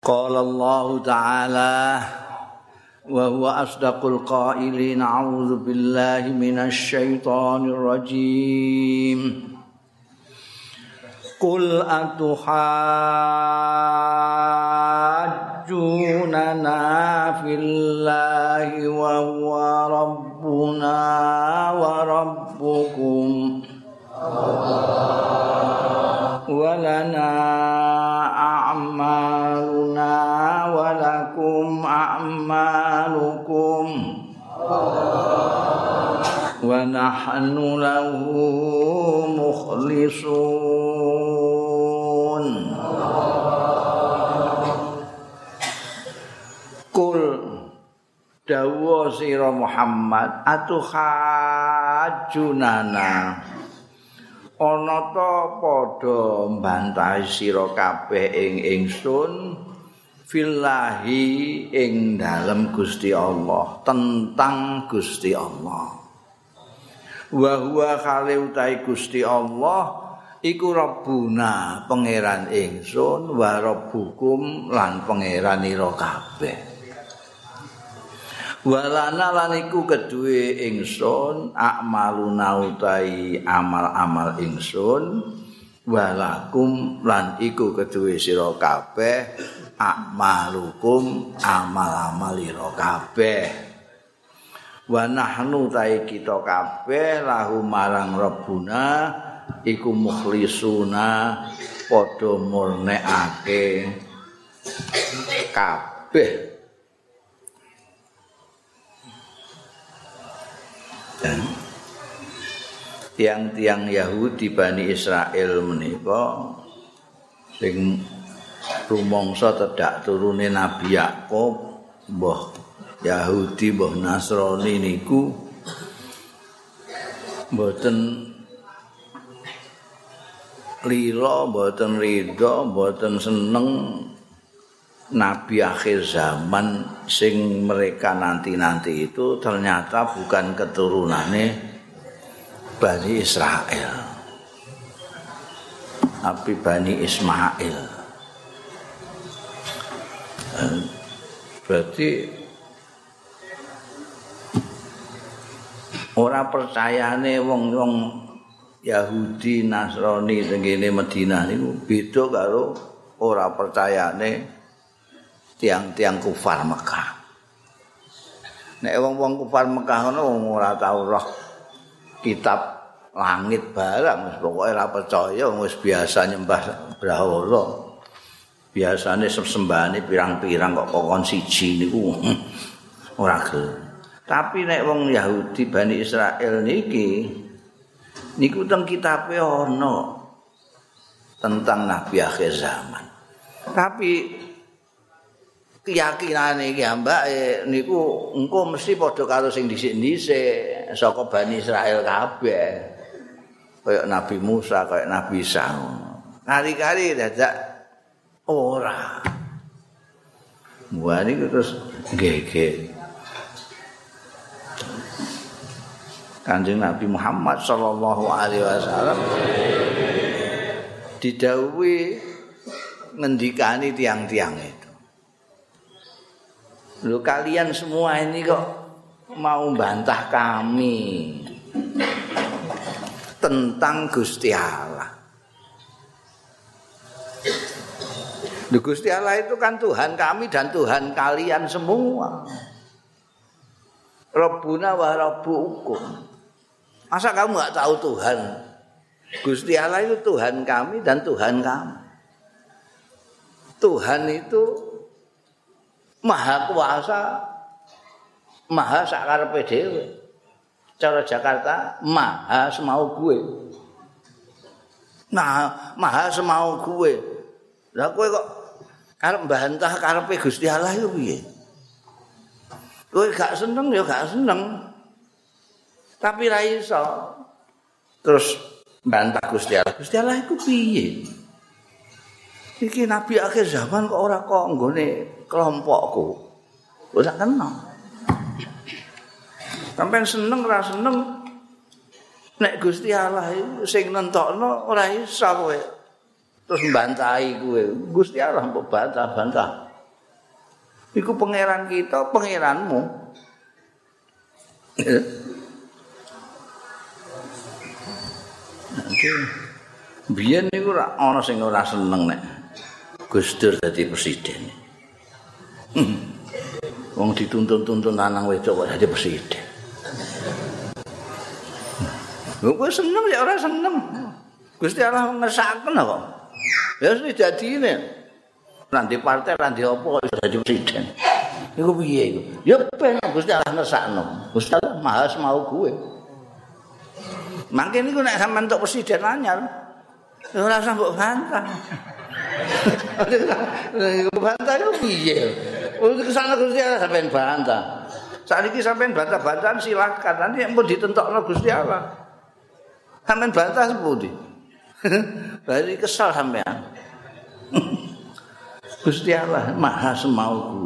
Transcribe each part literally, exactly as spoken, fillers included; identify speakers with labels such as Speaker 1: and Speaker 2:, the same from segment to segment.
Speaker 1: Qala Allah Ta'ala wa huwa asdaqul qailin a'udzu billahi minasy syaithanir rajim. Qul atuhajjunana fillahi wa huwa rabbuna wa rabbukum wa lana a'maluna wa lakum a'malukum wa nahnu lahu mukhlisun. Kul dawa sira Muhammad atuhajjunana ana ta padha mbantahi sira kabeh ing ingsun fillahi ing dalem Gusti Allah, tentang Gusti Allah. Wa huwa khali utahe Gusti Allah iku Rabbuna pangeran ingsun wa rabbukum lan pangeran ira kabeh. Walana lan iku keduwe ingsun a'maluna utahi amal-amal ingsun walakum lan iku keduwe sira kabeh a'malukum amal-amal ira kabeh. Wa nahnu utahi kita kabeh lahu marang Rabbuna iku mukhlisuna padha murnekake kabeh. Tiang-tiang Yahudi Bani Israel menika sing rumangsa tedak turune Nabi Yakub, mbah Yahudi mbah Nasrani niku mboten lira, mboten ridha, mboten seneng Nabi akhir zaman sing mereka nanti-nanti itu ternyata bukan keturunannya Bani Israel, tapi Bani Ismail. Berarti ora percayane wong-wong Yahudi Nasrani tengene Madinah niku beda karo ora percayane tiang-tiang kufar Mekah. Nek wong-wong kufar Mekah ngono ora tau roh kitab langit barang, pokoke ora percaya wis biasa nyembah brahala. Biasane sembahane pirang-pirang kok kokon siji niku ora gelem. Tapi nek wong Yahudi Bani Israel niki niku teng kitabe ana tentang Nabi akhir zaman. Tapi keyakinane iki ambake niku engko mesti padha karo sing dhisik-dhisik saka Bani Israel kabeh. Kaya Nabi Musa, kaya Nabi Isa. Kali-kali dadak ora. Wah niku terus geger. Kanjeng Nabi Muhammad sallallahu alaihi wasallam didhawuhi ngendikani tiang-tiang itu. Lho kalian semua ini kok mau bantah kami tentang Gusti Allah. Lho Gusti Allah itu kan Tuhan kami dan Tuhan kalian semua. Rabbuna wa rabbukum. Masa kamu enggak tahu Tuhan? Gusti Allah itu Tuhan kami dan Tuhan kamu. Tuhan itu Maha kuasa, maha sakarepe dhewe. Cara Jakarta, maha semau gue. Nah, maha semau gue. Lah kowe kok arep mbantah karepe Gusti Allah iku piye? Kowe gak seneng ya gak seneng. Tapi ra iso. Terus mbantah Gusti Allah. Gusti Allah iku piye? Iki nabi akhir zaman kok ora kok nggone kelompokku. Ora kenal. Sampeyan seneng ora seneng nek Gusti Allah sing nentokno ora iso kowe. Terus mbantahi kowe. Gusti Allah mbok bantah-bantah. Iku pangeran kita, pangeranmu. Biyen niku ora ana sing ora seneng nek Gus Dur dadi presiden. Wong dituntun-tuntun lanang wedok kok dadi presiden. Lho kowe seneng ya ora seneng. Gusti Allah ngersakaken kok. Ya wis dadine. Nanti partai nanti apa kok iso dadi presiden. Iku piye iku? Ya ben Gusti Allah ngersakno. Gusti Allah Maha mau gue. Mangke niku nek sampean entuk presiden anyar, ora usah mbok bantah. Iku bantah yo piye? Untuk kesana Gusti Allah sampean bantah. Saiki sampean bantah-bantahan silakan. Nanti empun ditentokno Gusti Allah. Sampeyan bantah sepundi? Bari kesal sampean. Gusti Allah Maha semauku.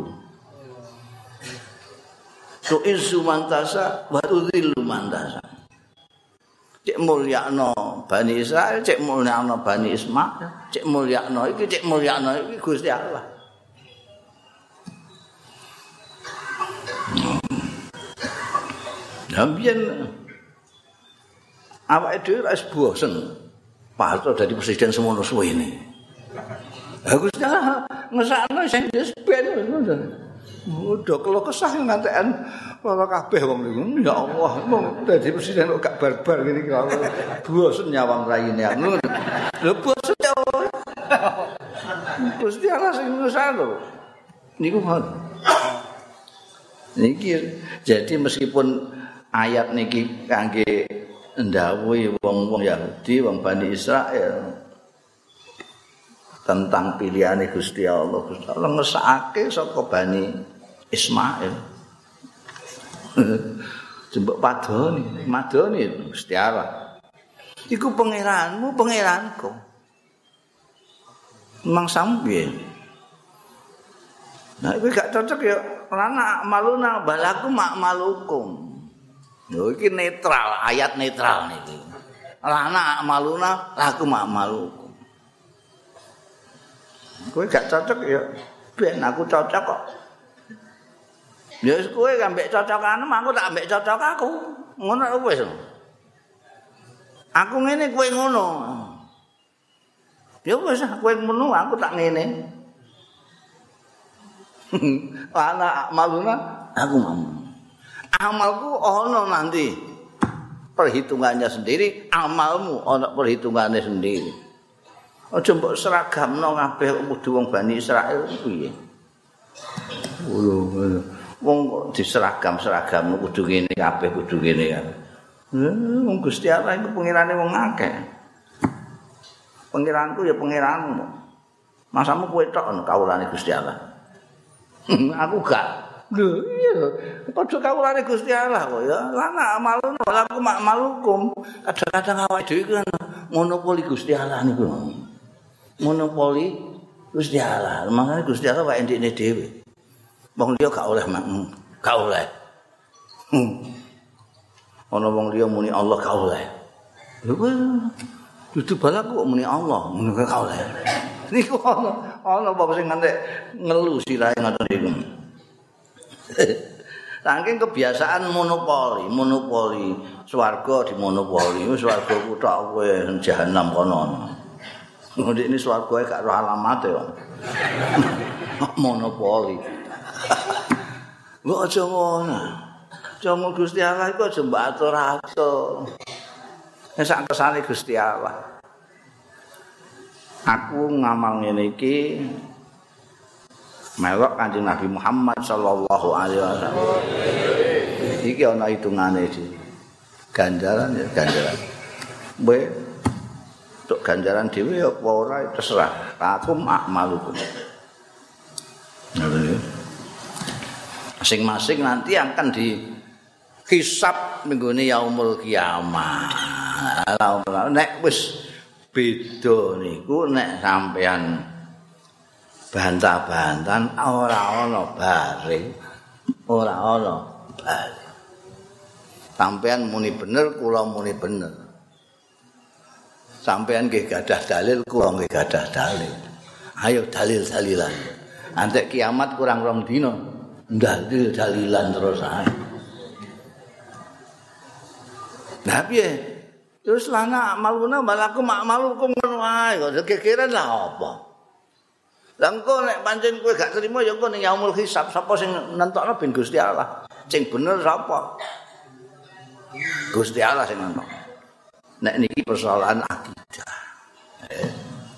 Speaker 1: Tu izu mantasa wa tudzillu mantasa. Cek mulyakno Bani Israil, cek mulyakno Bani Ismail, cek mulyakno iki, cek mulyakno iki Gusti Allah. Sampeyan awake dhewe wis bosen. Pak Harto dadi presiden semono suwene. Ha Gusti Allah ngesakno sing wis ben ngono. Udah kalau kesah ngantekan ora kabeh wong niku. Ya Allah, mong dadi presiden kok gak barbar ngene iki. Bosen nyawang raine ngono. Lho bosen ya. Gusti Allah sing ngesakno. Niku ngono. Niki jadi meskipun ayat niki kangge ndawuhi wong-wong Yahudi, wong Bani Israil tentang pilihane Gusti Allah. Gusti Allah ngesake saka Bani Ismail. Jembok padoni, madoni Gusti Allah. Iku pangeranmu, pangeranku. Memang sampe. Nah, iku gak cocok ya. Lana maluna balaku mak malukum. Yo iki netral, ayat netral niki. Lana maluna laku mak malukum. Kowe gak cocok ya ben aku cocok kok. Ya wis kowe ambek cocokan aku tak ambek cocok aku. Ngono wis. Aku ngene kowe ngono. Ya wis kowe ngono aku tak ngene. Lana maluna aku mau. Amalku ono nanti perhitungannya sendiri, amalmu ono perhitungannya sendiri. Aja mbok seragamno kabeh kudu wong Bani Israil piye. Lho, wong kok diseragam-seragam kudu ngene kabeh kudu ngene kan. Wong Gusti Allah iku pengirane wong akeh. Pengiranku ya pengiranmu. Masamu kowe tok kawulane Gusti Allah. Aku gak. Lho iya, padha kawulane Gusti Allah kok ya. Lana amalun walaku mak malukum. Kadang-kadang awake dhewe kan monopoli Gusti Allah niku. Monopoli Gusti Allah. Makane Gusti Allah wae ndekne dhewe. Wong liya gak oleh mak, gak oleh. Ana wong liya muni Allah gak oleh. Lho kowe dudu balaku kok muni Allah, ngono gak oleh. Niku ana ana apa sing ngantek ngelu sirahe ngoten niku. Saking kebiasaan monopoli, monopoli swarga di monopoli, swarga ku tok kowe jahanam kono. Ndik ini swargae gak roh alamate kok. Monopoli. Mbok aja ngono. Cuma Gusti Allah iku aja mbok atur-atur. Nek sak kesane Gusti Allah. Aku ngamal ngene iki melok Kanjeng Nabi Muhammad sallallahu alaihi wasallam. Iki ana hitungane iki. Ganjaran ya ganjaran. Kowe tok ganjaran dhewe apa ora terserah. Aku makmalukum. Masing-masing nanti akan dihisab minggune yaumul kiamah. Nek wis beda niku nek sampean bantah-bantahan ora ana bare, ora ana bare. Sampean muni bener, kula muni bener. Sampean nggih gadah dalil, kula nggih gadah dalil. Ayo dalil-dalilan. Antek kiamat kurang rong dina. Ndalil dalilan terus ae. Nah piye? Terus lana maluna balaku mak malukum ngono ae kok gegeran lah apa? Lah engko nek pancen kowe gak trimo ya engko ning yaumul hisab sapa sing nentokno ben Gusti Allah. Sing bener sapa? Gusti Allah sing nentokno. Nek niki persoalan akidah. Eh.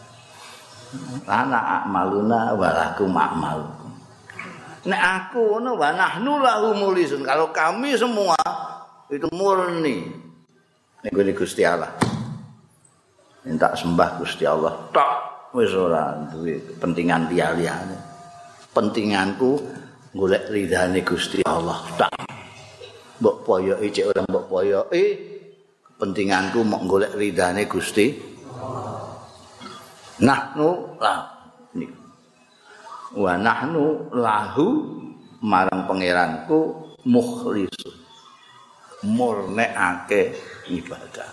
Speaker 1: Lana maluna balaku mak malukum. Nek aku ngono wa nahnu lahu mulisun. Kalau kami semua itu murni ning Gusti Allah. Minta sembah Gusti Allah. Tok wis ora duwe kepentingan liya-liyane. Pentinganku golek ridane Gusti Allah. Tak. Mbok poyoki cek ora mbok poyoki. Kepentinganku mok golek ridane Gusti Allah. Nahnu lah niku. Wa nahnu lahu marang pangeranku mukhlisun. Murnekake ibadah.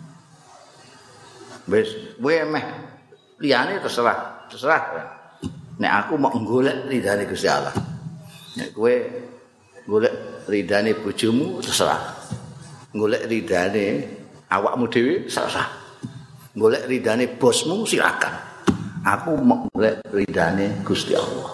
Speaker 1: Wis kowe meh liyane terserah, terserah. Nek aku mau golek ridane Gusti Allah. Nek kowe golek ridane bojomu terserah. Golek ridane awakmu dhewe terserah. Golek ridane bosmu silakan. Aku mau golek ridane Gusti Allah.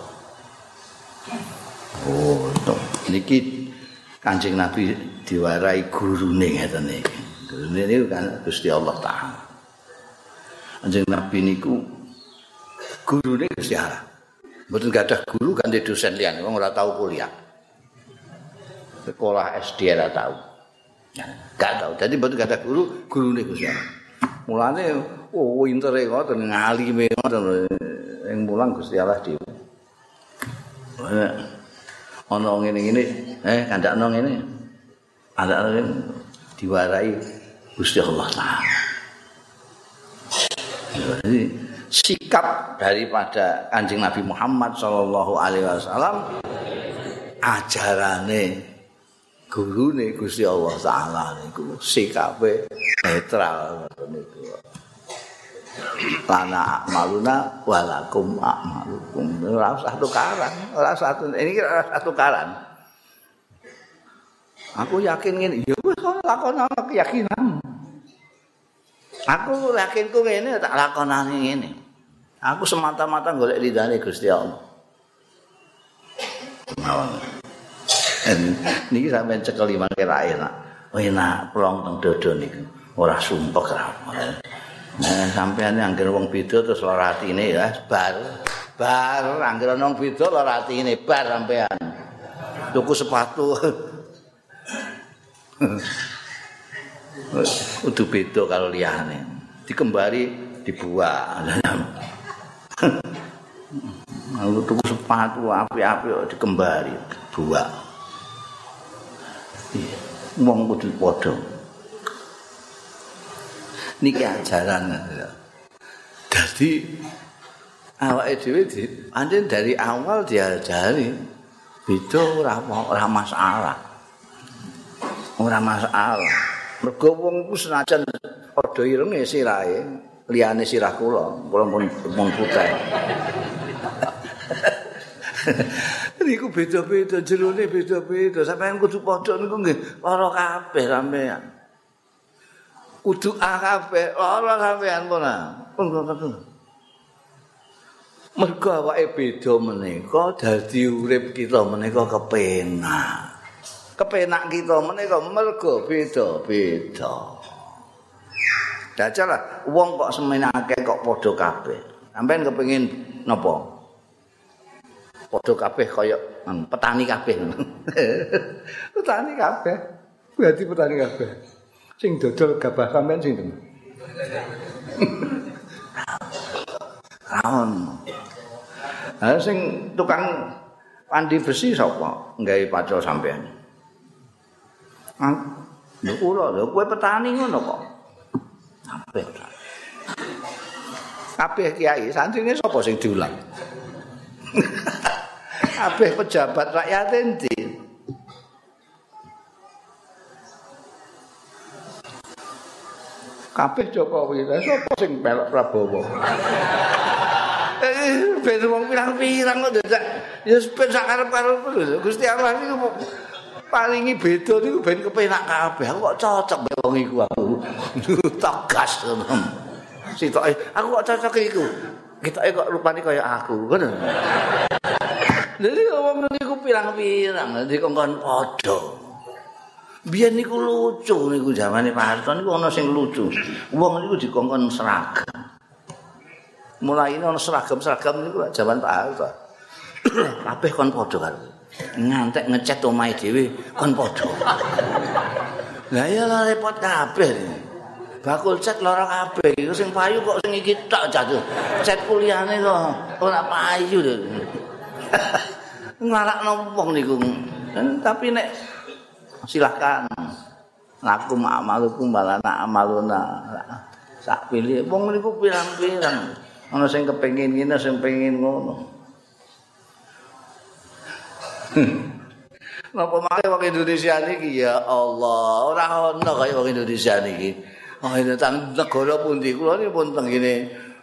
Speaker 1: Oh, to. Niki Kanjeng Nabi diwarai gurune ngeten iki. Gurune niku kan Gusti Allah Taala. Kanjeng Nabi niku gurune Gusti Allah. Mboten gadah guru ganti dosen liyane, wong ora tau kuliah. Sekolah S D ora tau. Gak tau. Dadi mboten gadah guru, gurune Gusti Allah. Mulane oh intere ngoten ngalime ngoten ing mulang Gusti Allah dhewe. Ana ngene-ngene, eh kandakno ngene. Ada diwarai Gusti Allah Taala. Jadi sikap daripada Kanjeng Nabi Muhammad sallallahu alaihi wasallam ajarane gurune Gusti Allah Taala niku sikape netral niku. Lana maluna walakum a'malukum. Ora usah tukaran, ora usah ini ora usah tukaran. Aku yakin ngene, ya wis kok lakonan keyakinan. Aku yakinku ngene tak lakonane ngene. Aku semata-mata golek ridane Gusti Allah. Mawon. Niki sampeyan cekeli mangke ra enak. Oh enak plong teng dodo niku. Ora sumpek ra. Nah, sampeyan anggere wong beda terus lara atine ya bar. Bar anggere wong beda lara atine bar sampeyan. Tuku sepatu. Udah beda kalau liyane. Dikembari dibuang. Lalu tuku sepatu apik-apik kok dikembari buang. Wong kudu padha. Niki ajaran. Dadi awake dhewe pancen dari awal diajari beda ora ora masalah. Ora masalah. Mergo wong ku senajan padha irenge sirahe, liyane sirah kula, kula pun mung putih. Niku beda-beda jerone beda-beda. Sampeyan kudu padha niku nggih lara kabeh sampeyan. Kudu ah kabeh lara sampeyan puna. Pun kudu. Mergo awake beda menika dadi urip kita menika kepenak. Kepenak kita menika mergo beda-beda. Dajalah wong kok semenake kok padha kabeh. Sampeyan kepengin napa? Padha kabeh kaya petani kabeh. Petani kabeh. Berarti petani kabeh. Sing dodol gabah sampeyan sinten? Kaon. Ha sing tukang pandi besi sapa? Nggawe pacul sampeyan. Ah, lho kula lho kowe petani ngono kok. Kabeh. Kabeh kiai santrine sapa sing diulang? Kabeh pejabat rakyat endi? Kabeh Jokowi. Lah sapa sing melok Prabowo? Ben wong pirang-pirang kok dadak ya ben sak karep-karep Gusti Allah niku palingi beda niku ben kepenak kabeh. Aku kok cocok mbek wong iku aku. Tegas ngono. Sitoke aku kok cocok iku. Ketoke kok rupane kaya aku, ngono. Dadi wong niku pirang-pirang, dadi kongkon padha. Biyen niku lucu niku zamane Pak Harto niku ana sing lucu. Wong niku dikongkon seragam. Mulai ana seragam-seragam niku zaman Pak Harto. Kabeh kon padha karo. Ngantek ngecat omahe dhewe kon padha. Lah ya repot kabeh. Bakul cat lara kabeh. Iku sing payu kok sing iki tok jatuh. Cat kuliahane kok ora payu lho. Ngarakno wong niku. Tapi nek silakan. Laku ma'amalukum balana amaluna. Sak pilih wong niku pirang-pirang. Ana sing kepengin ngene, sing pengin ngono. Napa male wong Indonesia niki ya Allah, ora ono kaya wong Indonesia niki. Oh, ini tang negara pundi kula niki pun teng ngene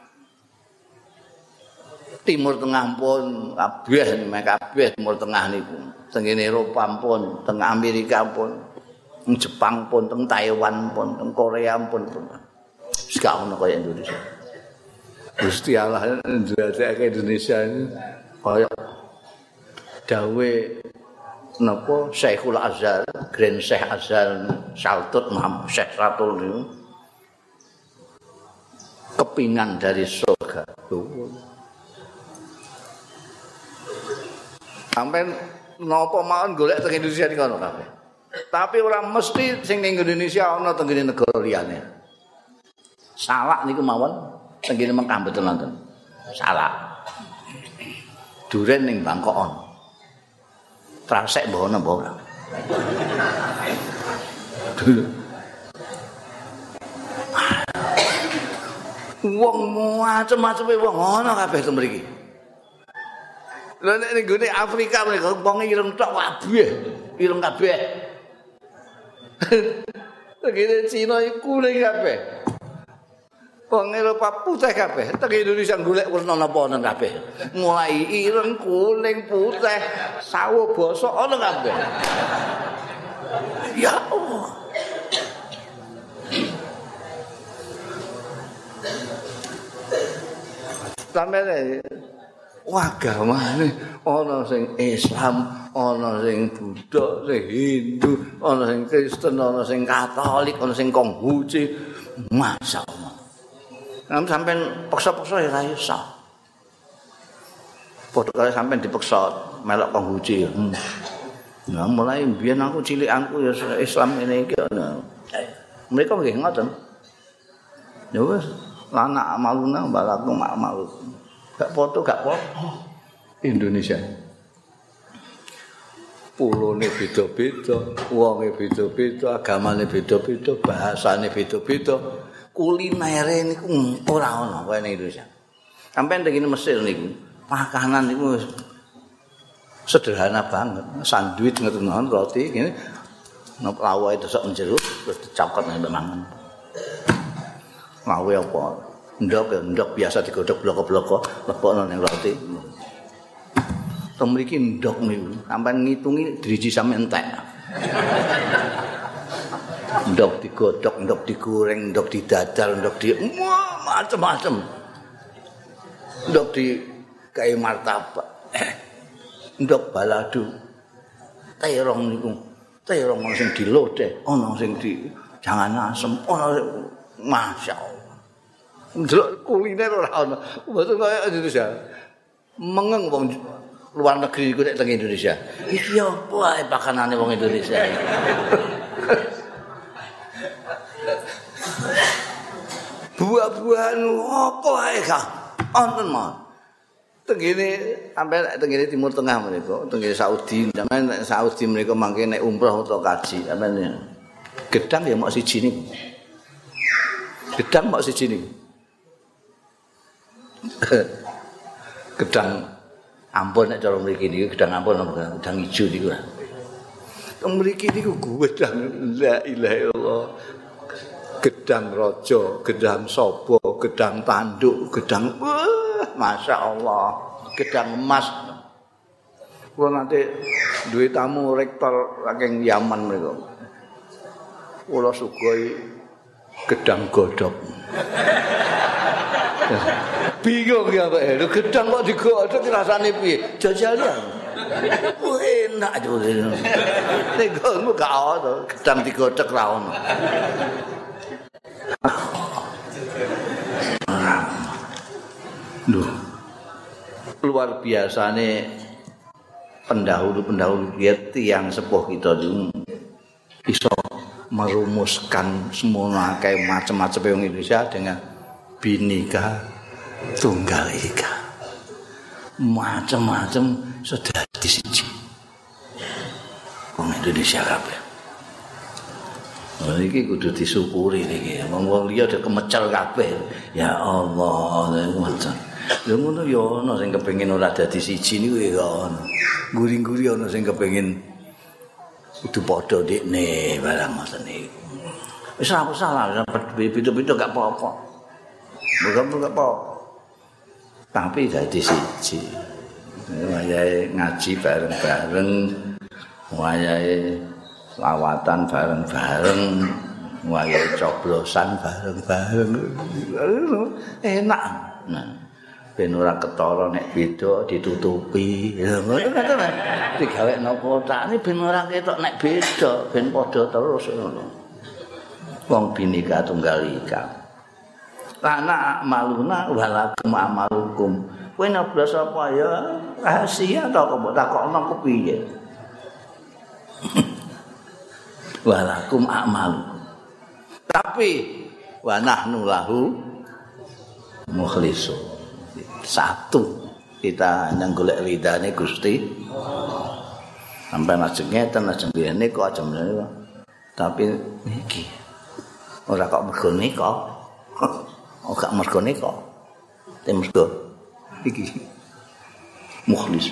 Speaker 1: Timur Tengah pun kabeh kabeh Timur Tengah niku. Teng ngene Eropa pun, teng Amerika pun, teng Jepang pun, teng Taiwan pun, teng Korea pun. Wis gak ono kaya Indonesia. Gusti Allah ndadekake Indonesia ini kaya dawe napa Syekhul Azhar, Grand Syekh Azhar Saltut Muhammad Syekh Ratul niku kepingan dari surga. Sampai napa mawon golek teng Indonesia niku ana kabeh. Tapi ora mesti sing ning Indonesia ana teng negara liyane. Salak niku mawon teng Mekah mboten wonten. Salak. Duren ning Bangkok ana. Trasek mbah ana mbah ora. Wong macam-macam wong ana kabeh teng mriki. Lha nek ning gone Afrika mereka wong ireng tok kabeh, ireng kabeh. Tegene Cina iku kuning kabeh. Wong Eropa putih kabeh, teng Indonesia golek werna napa ana kabeh. Mulai ireng, kuning, putih, sawo basa ana kabeh. Ya Allah. Sampai agamane ana sing Islam, ana sing Buddha, sing Hindu, ana sing Kristen, ana sing Katolik, ana sing Konghucu. Masyaallah. Nam sampean paksa-paksa ya ora iso. Padha kaya sampean dipaksa melok Konghucu. Hmm. Nah, mulai biyen aku cilikanku ya Islam ngene iki ana. Mereka nggih ngoten. Ya wis, lana amaluna balaku malu. Gak foto gak foto. Indonesia. Pulone beda-beda, wonge beda-beda, agamane beda-beda, bahasane beda-beda. Kulinere niku ora ana kaya ning Indonesia. Sampai teng Mesir niku, makanan niku sederhana banget. Sandwich ngoten roti ngene. Nop lawae desok njero terus dicokot nek mangan. Lawe apa? Ndok ya, ndok biasa digodhog bloko-bloko, lebokno ning roti. Teng mriki ndok niku, sampean ngitungi driji sampe entek. Ndok digodhog, ndok digoreng, ndok didadar, ndok di macam-macam. Ndok di kae martabak. Ndok balado. Terong niku. Terong ana sing dilodeh, ana sing di jangan asem, ana masyaallah. Ndelok kuliner ora ana. Mboten kaya Indonesia. Mengeng wong luar negeri iku nek teng Indonesia. Iki apa ae pakanane wong Indonesia. Buah-buahan apa ae ka? Wonten mawon. Tengene sampai tengene Timur Tengah menika, tengene Saudi, sampeyan Saudi menika mangke nek umroh utawa kaji, sampeyan gedang ya mok siji niku. Gedang mok siji niku. Gedang ampun nek cara mriki niku gedang ampun gedang ijo niku. Teng mriki niku gedang la ilaha illallah. gedang rojo, gedang sobo, gedang tanduk, gedang wah, masya Allah, gedang emas. Kalau nanti duit tamu rektor saking Yaman mereka, kalau sugoi gedang godok. Bingung ya Pak, lu gedang kok digodok rasane piye? Jajal ya. Wah enak juga. Nek ngono gak ono gedang digodok ra ono. Duh. Luar biasane pendahulu-pendahulu kita yang sepuh kita itu bisa merumuskan semua kayak macam-macam yang Indonesia dengan Bhinneka Tunggal Ika. Macam-macam sudah di sini. Wong Indonesia kabeh. Oh iki kudu disyukuri niki. Wong liya udah kemecel kabeh. Ya Allah, macam. Lha ngono ya ana sing kepengin ora dadi siji niku ya ana. Guri-guri ana sing kepengin kudu padha ndekne barang ngoten niku. Wis ora salah, beda-beda gak apa-apa. Bukan gak apa-apa. Tapi dadi siji. Wayahe ngaji bareng-bareng, wayahe lawatan bareng-bareng, wayahe coblosan bareng-bareng. Enak. Nah, ben ora ketara nek beda ditutupi. Lha ngono kan digawekno kotane ben ora ketok nek beda, ben padha terus ngono. Wong Bhinneka Tunggal Ika. Lana amaluna walakum amalukum. Kowe nyoblos apa ya? Rahasia ta kok mbok takokno kepiye? Walakum amalukum. Tapi wa nahnu lahu mukhlisun. Satu kita nang golek ridane Gusti. Sampai lajeng ngeten lajeng ngene kok aja meneh. Tapi niki ora kok mergo nika. Oh gak mergo nika. Tem mergo iki mukhlis.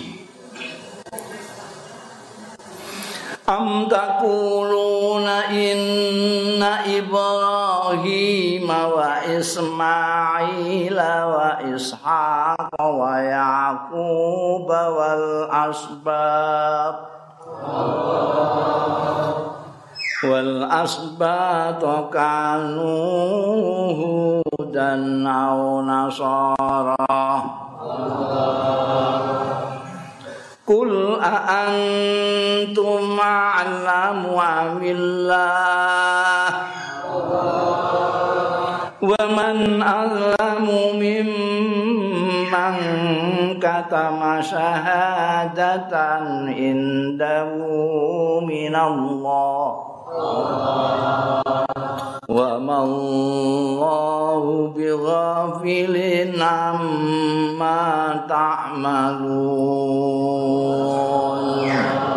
Speaker 1: Am taquluna inna Ibrahim wa Ismail wa Ishaq wa Yaqub wal asbab wal asbat kanu hudan aw nasara Qul a'antum a'lamu amillah wa man a'lamu mimman katama syahadatan indahu minallah wa mallahu bighafilin amma ta'malun.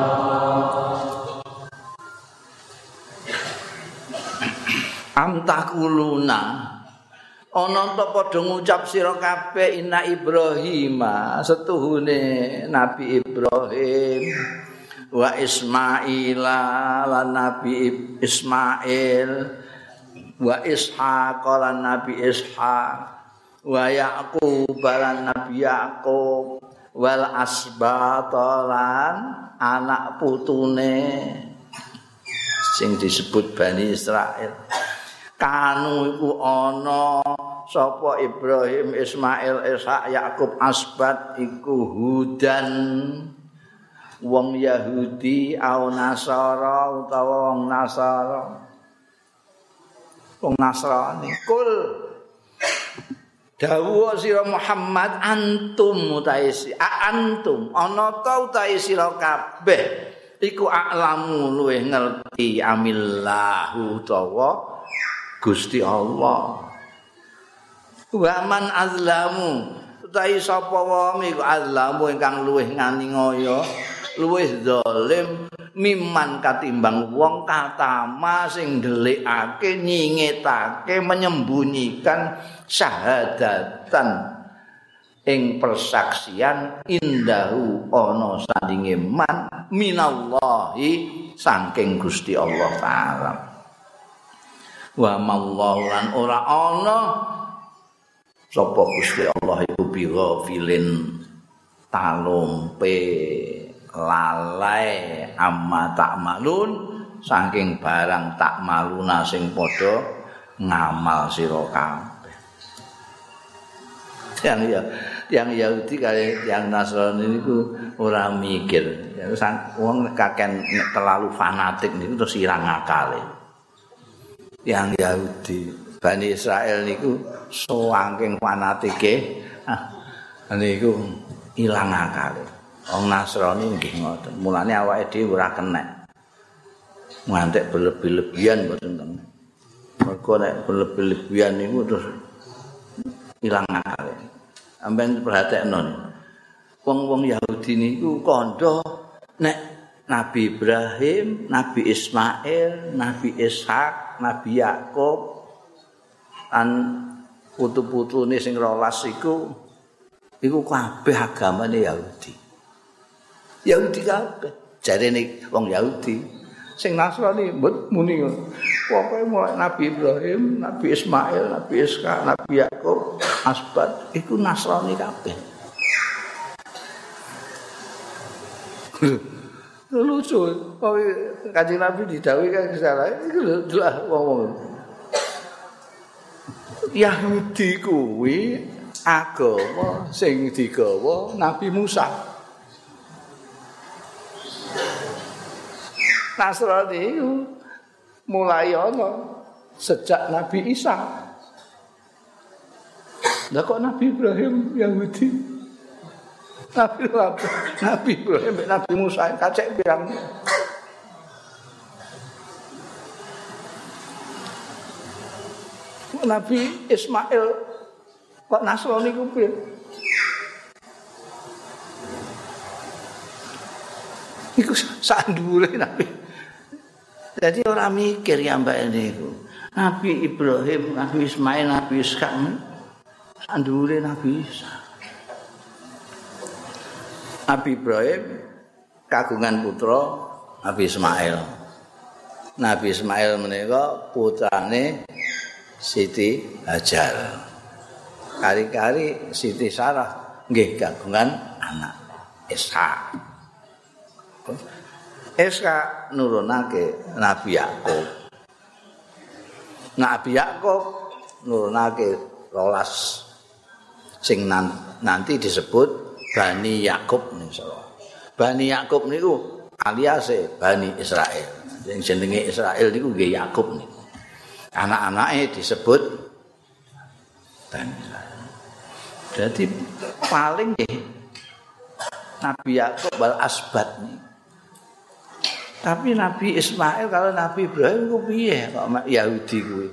Speaker 1: Am taquluna ana ta padha ngucap sira kabeh inna Ibrahim setuhune Nabi Ibrahim wa Ismaila lan Nabi Ismail wa Ishaq lan Nabi Ishaq wa Yaqub lan Nabi Yaqub wal asbat lan anak putune sing disebut Bani Israil kanu iku ana sapa Ibrahim Ismail Ishaq Yaqub asbat iku hudan wong Yahudi au Nasara utawa wong Nasara wong Nasrani. Kul dawuh sira Muhammad antum utaisi a antum ana ta utaisi sira kabeh iku a'lamu luweh ngerti amillahu utawa Gusti Allah. Wa man azlamu utahi sapa wae iku azlamu ingkang luweh ngani ngoyo luwih zalim miman katimbang wong katama sing ndelikake nyingetake menyembunyikan syahadatan ing persaksian indahu ana sandinge man minallahi saking Gusti Allah taala wa mallahu lan ora ana sapa Gusti Allah iku bighafilin talumpe lalai amma takmalun saking barang takmaluna sing padha ngamal sira kabeh. Yang ya yang Yahudi kali yang Nasrani niku ora mikir. Ya wong kaken terlalu fanatik niku terus ilang akale. Yang Yahudi Bani Israel niku saking fanatike ah niku ilang akale. Wong Nasrani nggih ngoten. Mulane awake dhewe ora kenek. Ngantek berlebih-lebihan mboten tenan. Mergo nek berlebih-lebihan niku terus ilang akale. Sampeyan perhatekno. Wong-wong Yahudi niku kandha nek Nabi Ibrahim, Nabi Ismail, Nabi Ishak, Nabi Yakub lan putu-putune sing rolas iku iku kabeh agamane Yahudi. Yahudi kabeh. Jarene wong Yahudi. Sing Nasrani mbet muni ngono. Pokoke mulai Nabi Ibrahim, Nabi Ismail, Nabi Ishak, Nabi Yakub, Asbat iku Nasrani kabeh. Lucu. Pokoke Kanjeng Nabi didhawuhi kan salah iku lho wong-wong. Yahudi kuwi agama sing digawa Nabi Musa. Nasrani mulai ana sejak Nabi Isa. Lah kok Nabi Ibrahim Yahudi? Nabi Nabi Ibrahim Nabi Musa kacek pirang. Nabi Ismail kok Nasrani ku piye? Iku sandure Nabi. Jadi orang mikir ya mbak ini. Nabi Ibrahim, Nabi Ismail, Nabi Ishak, sandure Nabi Isa. Nabi Ibrahim kagungan putra Nabi Ismail. Nabi Ismail menika putrane Siti Hajar. Kari-kari Siti Sarah nggih kagungan anak Ishak. Ishak nurunake Nabi Yakub. Nabi Yakub nurunake rolas sing nanti disebut Bani Yakub niku. Bani Yakub niku aliase Bani Israel. Sing jenenge Israel niku nggih Yakub niku. Anak-anake disebut Bani Israel. Jadi paling nggih Nabi Yakub wal Asbat niku. Tapi Nabi Ismail kalau Nabi Ibrahim ku piye kok Yahudi kuwi.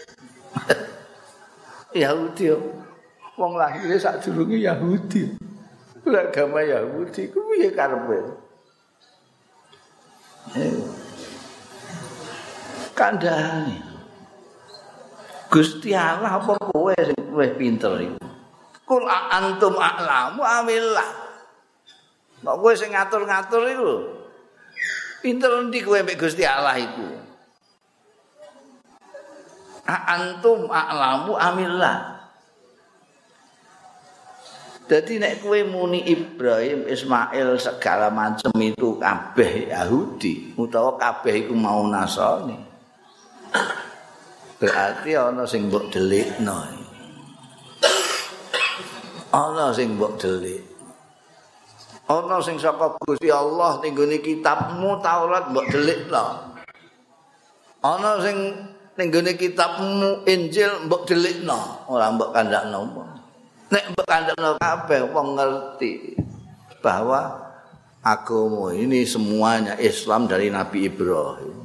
Speaker 1: Yahudi wong lahire sadurunge Yahudi. Agama Yahudi ku piye karepe? Kandhane. Gusti Allah apa kowe sing luwih pinter iku? Kul antum a'lamu amillah. Kok kowe sing ngatur-ngatur iku lho. Pinter endi kowe mek Gusti Allah iku? A antum a'lamu amillah. Jadi nek kowe muni Ibrahim, Ismail segala macam itu kabeh Yahudi utawa kabeh iku mau Nasrani. Berarti ana sing mbok delikno. Ana sing mbok delik. Ana sing saka Gusti Allah ning gone kitabmu Taurat mbok delikno. Ana sing ning gone kitabmu Injil mbok delikno, ora mbok kandhakno. Nek mbok kandhakno kabeh wong ngerti bahwa agama ini semuanya Islam dari Nabi Ibrahim.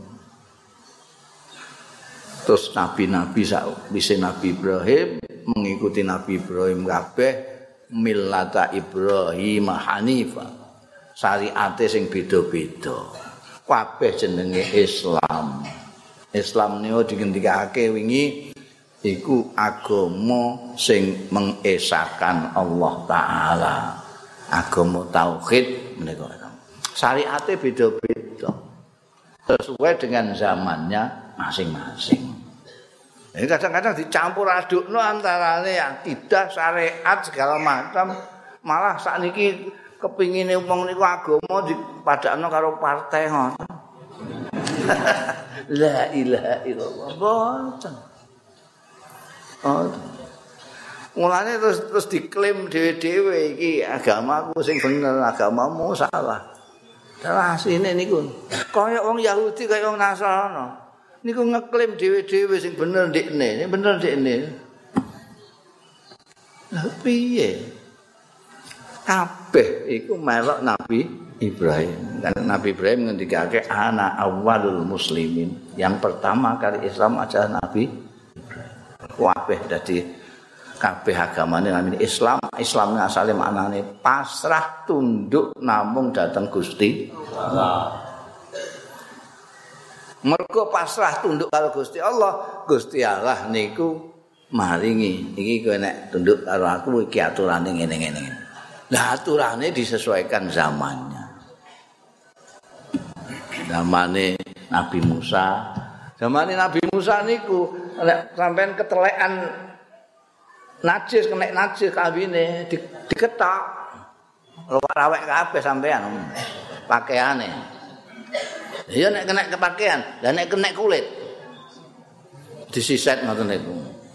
Speaker 1: Terus nabi-nabi sakwise Nabi Ibrahim mengikuti Nabi Ibrahim kabeh millata Ibrahim Hanifa. Syariate sing beda-beda. Kabeh jenenge Islam. Islam niku digendikake wingi iku agama sing mengesahkan Allah Ta'ala. Agama tauhid menika. Syariate beda-beda. Sesuai dengan zamannya masing-masing. Jadi kadang-kadang dicampur adukno antarane akidah, syariat segala macam, malah sakniki kepingine wong niku agama dipadakno karo partai ngoten. La ilaha illallah. Boten. Oh. Mulane terus terus diklaim dhewe-dhewe iki agamaku sing bener, agamamu salah. Salah asline niku. Kaya wong Yahudi kaya wong Nasrani. Niku ngeklaim dhewe-dhewe sing bener ndekne, bener ndekne. Lha piye? Kabeh iku melok Nabi Ibrahim. Kan Nabi Ibrahim ngendikake ana awwalul muslimin. Yang pertama kali Islam adalah Nabi Ibrahim. Kabeh dadi kabeh agamane namine Islam. Islam asale maknane pasrah tunduk namung dhateng Gusti Allah. Mergo pasrah tunduk karo Gusti Allah, Gusti Allah niku maringi. Iki kowe nek tunduk karo aku iki aturane ngene-ngene. Lah aturane disesuaikan zamannya. Zamane Nabi Musa, zamane Nabi Musa niku nek sampean ketelekan najis kena najis kawine di, diketok. Rawek kabeh sampean pakaiane. Ya nek kena kepakaian, lah nek kena kulit disiset ngoten niku.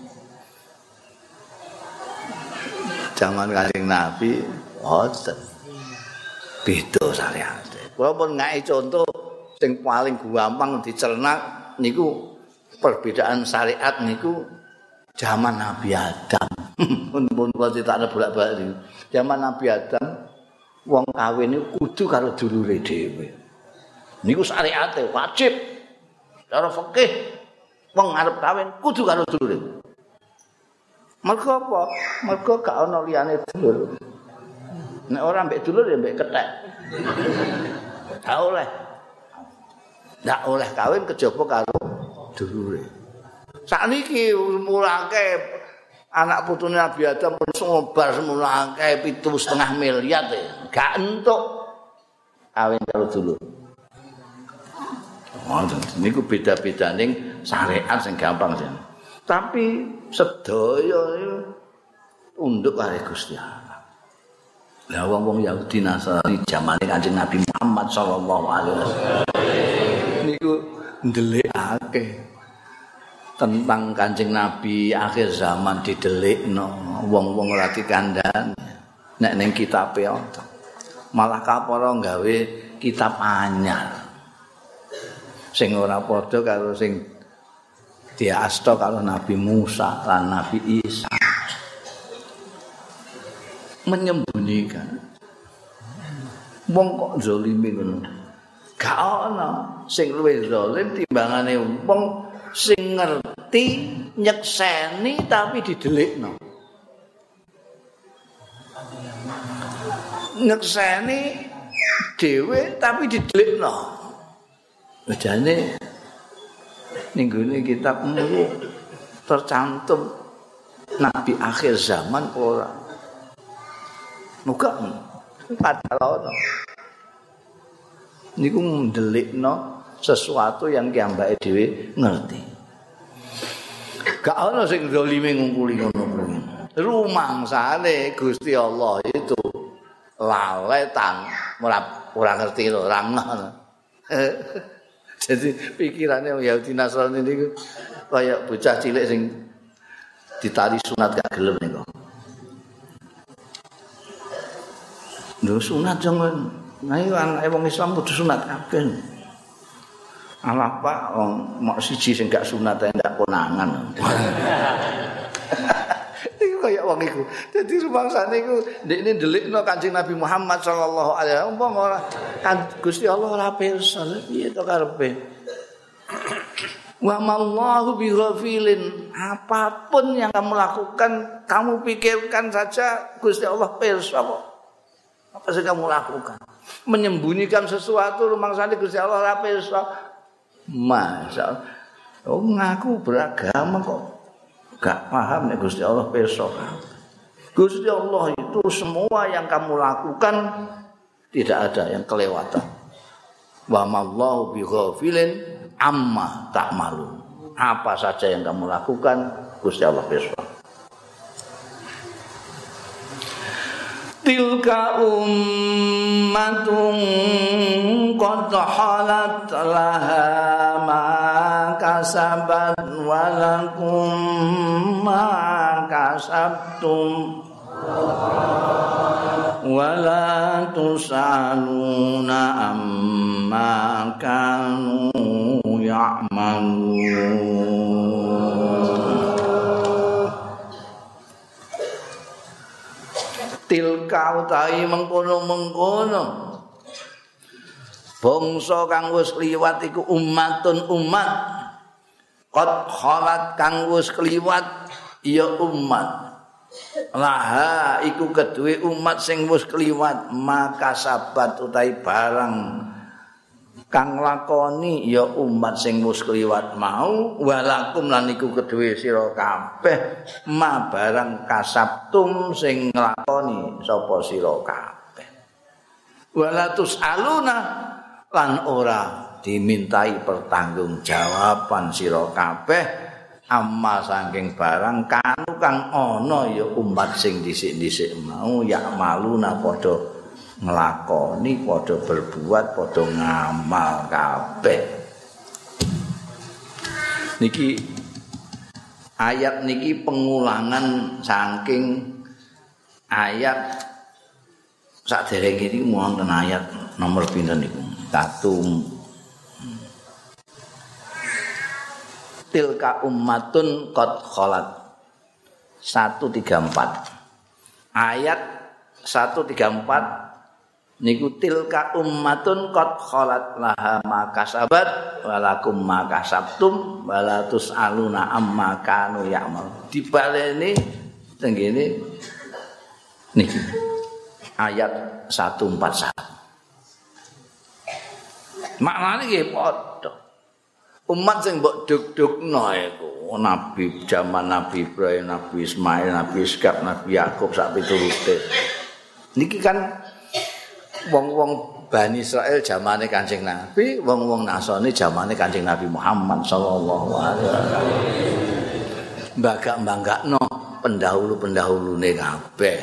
Speaker 1: Zaman Kanjeng Nabi oten. Beda syariat. Kula pun ngaki contoh sing paling gampang dicerna niku perbedaan syariat niku zaman Nabi Adam. Pun kula critakne bolak-balik. Zaman Nabi Adam wong kawin niku kudu karo dulure dhewe. Niku syariate wajib. Cara fikih wong arep kawin kudu karo dulure. Mergo apa? Mergo gak ana liyane dulur. Nek ora mbek dulur ya mbek kethek. Gak oleh. Gak oleh kawin kejaba karo dulure. Sakniki mulake anak putune Nabi Adam pun ngobar semulake pitu setengah miliar ya. Gak entuk kawin karo dulur. Oh, niku beda-beda ning syariat sing gampang jan. Tapi sedaya tunduk karo Gusti Allah. Lah wong-wong Yahudi Nasrani zamane Kanjeng Nabi Muhammad sallallahu alaihi wasallam niku ndelikake tentang Kanjeng Nabi akhir zaman didelikno wong-wong ora dikandhani. Nek ning kitabe malah kapara gawe kitab anyar. Sing ora padha karo sing diasta karo Nabi Musa lan Nabi Isa. Menyembunyikan. Wong kok zalime ngono. Gak ana sing luwih zalim timbangane wong sing ngerti nyekseni tapi didelikno. Nyekseni dhewe tapi didelikno. Bejane ning gone kitab niku tercantum nabi akhir zaman ora. Muga padahal niku ndelikno sesuatu yang kiambake dhewe ngerti. Gak ana sing zalime ngungkuli ngono kuwi. Rumangsane Gusti Allah itu laletan ora ora ngerti lho, ora ngono. Jadi pikirannya Yahudi Nasrani niku kaya bocah cilik sing ditari sunat gak gelem niku. Lho sunat jangan. Nah iki anake wong Islam kudu sunat kabeh. Alah Pak wong mok siji sing gak sunat ae ndak konangan. Iku kaya wong iku. Dadi rumangsane iku ndekne ndelikno Kanjeng Nabi Muhammad sallallahu alaihi wasallam umpama ora kan Gusti Allah ora pirsa piye to karepe. Wa mallahu bighafilin, apapun yang kamu lakukan, kamu pikirkan saja Gusti Allah pirsa kok. Apa sih kamu lakukan? Menyembunyikan sesuatu rumangsane Gusti Allah ora pirsa. Masa oh ngaku beragama kok gak paham nek Gusti Allah pirsa. Gusti Allah itu semua yang kamu lakukan tidak ada yang kelewatan. Wa mallahu bighafilin amma ta'malun. apa saja yang kamu lakukan, Gusti Allah pirsa. Tilka ummatun qad halat laha ma kasabat wa lakum ma kasabtum wa la tusaluna amma kanu ya'malun. Tilka utahi mengkono-mengkono bangsa kang wis kliwat iku ummatun umat qad khalat kang wis kliwat ya umat laha iku kedue umat sing wis kliwat maka sabat utahi barang kang lakoni ya umat sing wis kliwat mau walakum lan iku kedue sira kabeh ma barang kasabtum sing nglakoni sapa sira kabeh walatus aluna lan ora dimintai pertanggungjawaban sira kabeh amma saking barang kanu kang ana ya umat sing dhisik-dhisik mau ya maluna padha nglakoni padha berbuat padha ngamal kabeh. Niki ayat niki pengulangan saking ayat saderenge iki wonten ayat nomor pinten niku? Satu. Tilka ummatun qad khalat. seratus tiga puluh empat. Ayat seratus tiga puluh empat niku tilka ummatun qad khalat laha ma kasabat walakum ma kasabtum wala tusaluna amma kanu ya'mal. Dibaleni tenggene niki ayat seratus empat puluh satu. Maknane nggih padha. Umat sing mbok dug-dugno iku nabi zaman Nabi Ibrahim, Nabi Ismail, Nabi Ishak, Nabi Yakub sak piturute. Niki kan wong-wong Bani Israil zamane Kanjeng Nabi, wong-wong Nasrani zamane Kanjeng Nabi Muhammad sallallahu alaihi wasallam. Mbagak-mbagakno pendahulu-pendahulune kabeh.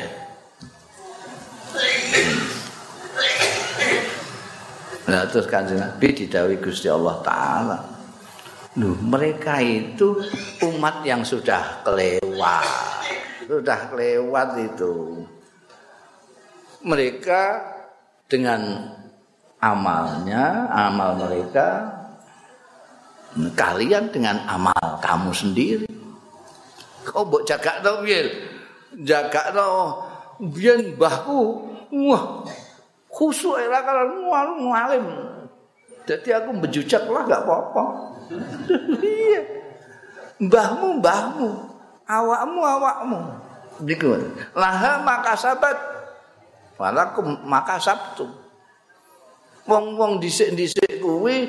Speaker 1: Nah, terus Kanjeng Nabi didhawuhi Gusti Allah taala. Loh, mereka itu umat yang sudah kelewat. Sudah kelewat itu. Mereka dengan amalnya, amal mereka, kalian dengan amal kamu sendiri. Kau mbok jagakno piye? Jagakno biyen mbahku, wah, khusuk era kan ngalim. Jadi aku bejujak lah gak apa-apa. Iya. Mbahmu mbahmu, awakmu awakmu. Niku. Laha makasabat walakum makasabtu. Wong-wong dhisik-dhisik kuwi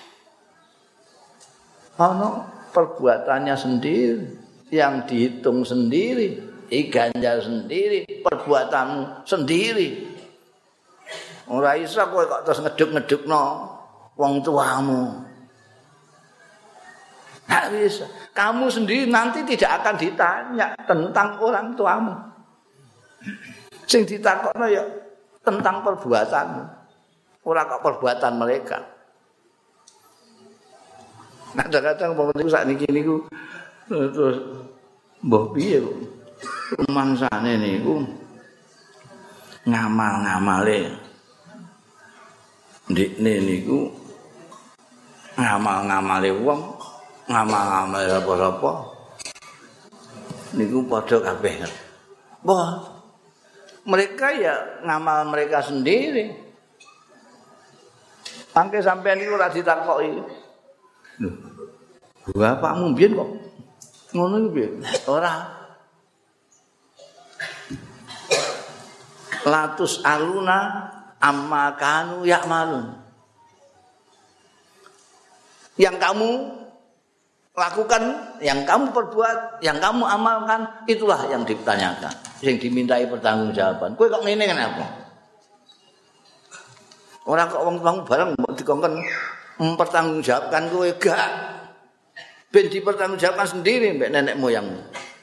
Speaker 1: ana perbuatannya sendiri yang dihitung sendiri, diganjar sendiri, perbuatanmu sendiri. Ora iso kowe kok terus ngeduk-ngedukno wong tuamu. Nggak bisa. Kamu sendiri nanti tidak akan ditanya tentang orang tuamu. Sing ditakokno ya tentang perbuatanmu. Ora kok perbuatan mereka. Nah, kadang-kadang wong niku sakniki niku terus mbah piye kok rumangsane niku ngamal-ngamale ndikne niku ngamal-ngamale wong ngamal-ngamal apa-apa niku padha kabeh. Wah, mereka ya ngamal mereka sendiri. Angke sampean niku ora ditakoki. Lho, bapakmu mbiyen kok ngono iku piye? Ora. Latus aluna amma kanu ya'malun. Yang kamu lakukan, yang kamu perbuat, yang kamu amalkan, itulah yang ditanyakan, yang dimintai pertanggungjawaban. Kowe kok ngene kenapa? Ora kok wong-wong bareng mbok dikongkon mempertanggungjawabkan kowe gak. ben dipertanggungjawabkan sendiri mbek nenek moyangmu.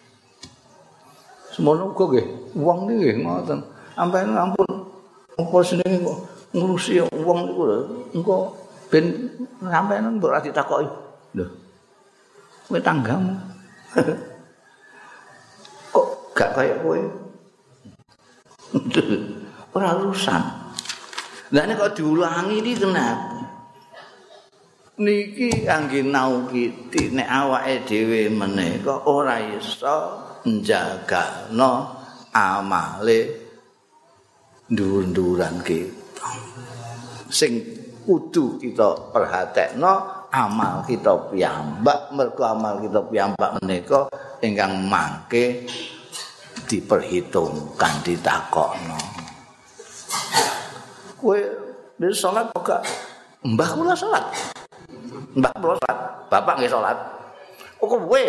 Speaker 1: Semono uga nggih, wong niki ngoten. Sampeyan ampun apa senenge kok ngurusi wong niku lho. Engko ben sampeyan mbok ora ditakoki. Lho. Kowe tanggamu. Kok gak kaya kowe? Ora urusan. Lah nek kok diulangi iki kenapa? Niki kangge naukiti nek awake dhewe menika ora iso njagakno amale ndur-nduran kita. Sing kudu kita perhatekno amal kita piyambak, mergo amal kita piyambak menika ingkang mangke diperhitungkan, ditakokno. Kowe wis salat kok mbah kula salat. Mbah kula salat, bapak nggih salat. Kok kowe?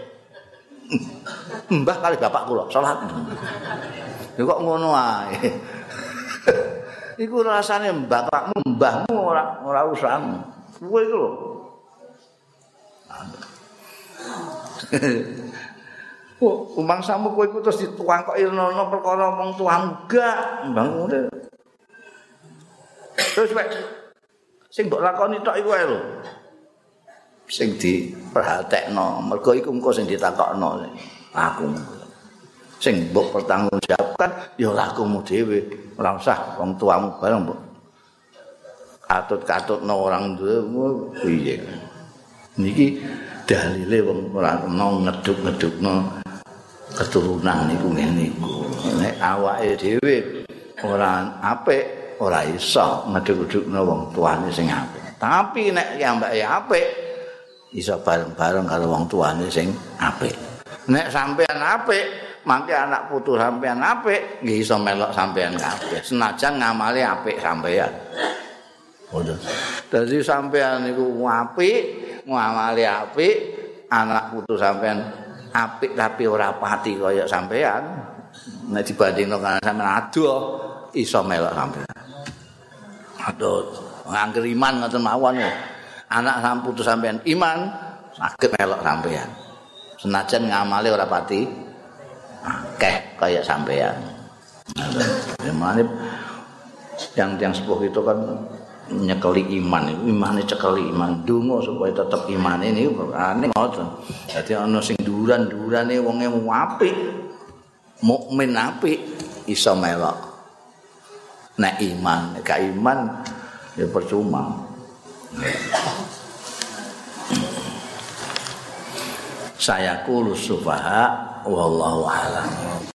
Speaker 1: Mbah kali bapak kula salat. Ya kok ngono ae. Iku rasane bapakmu, mbahmu ora ora urusan. Kowe iku lho. Oh, umangsamu kowe iku terus dituangkokno perkara wong tuamu gak, mbah ngene. Terus wek sing mbok lakoni tok iku ae lho. Sing diperhatekno, mergo iku engko sing ditakokno aku. Sing mbok pertanggungjawabkan ya lakumu dhewe, ora usah wong tuamu bareng mbok katut-katutno orang duwe piye. Niki dalile wong ora kena ngeduk-ngedukno keturunan niku ngene niku. Nek awake dhewe ora apik, ora iso ngeduk-ngedukno wong tuane sing apik. Tapi nek ambake apik iso bareng-bareng karo wong tuane sing apik. Nek sampean apik, mangke anak putu sampean apik, nggih iso melok sampean kabeh. Senajan ngamale apik sampean. Ngoten. Dadi sampean niku apik, ngamale apik, anak putu sampean apik tapi ora pati kaya sampean. Nek dibandingno karo sampean adoh, iso melok sampean. Aduh, ngangger iman ngoten mawon. Anak sampean putu sampean iman, saged melok sampean. Senajan ngamale ora pati akeh kaya sampean. Nah, yang yang sepuh itu kan nyekeli iman, imane cekeli iman, donga supaya tetep imane niku ane ngoten. Dadi ana sing duran-durane wonge apik, mukmin apik iso melok. Nek iman, nek gak iman ya percuma. Saya kulus sufaha wallahu a'lam.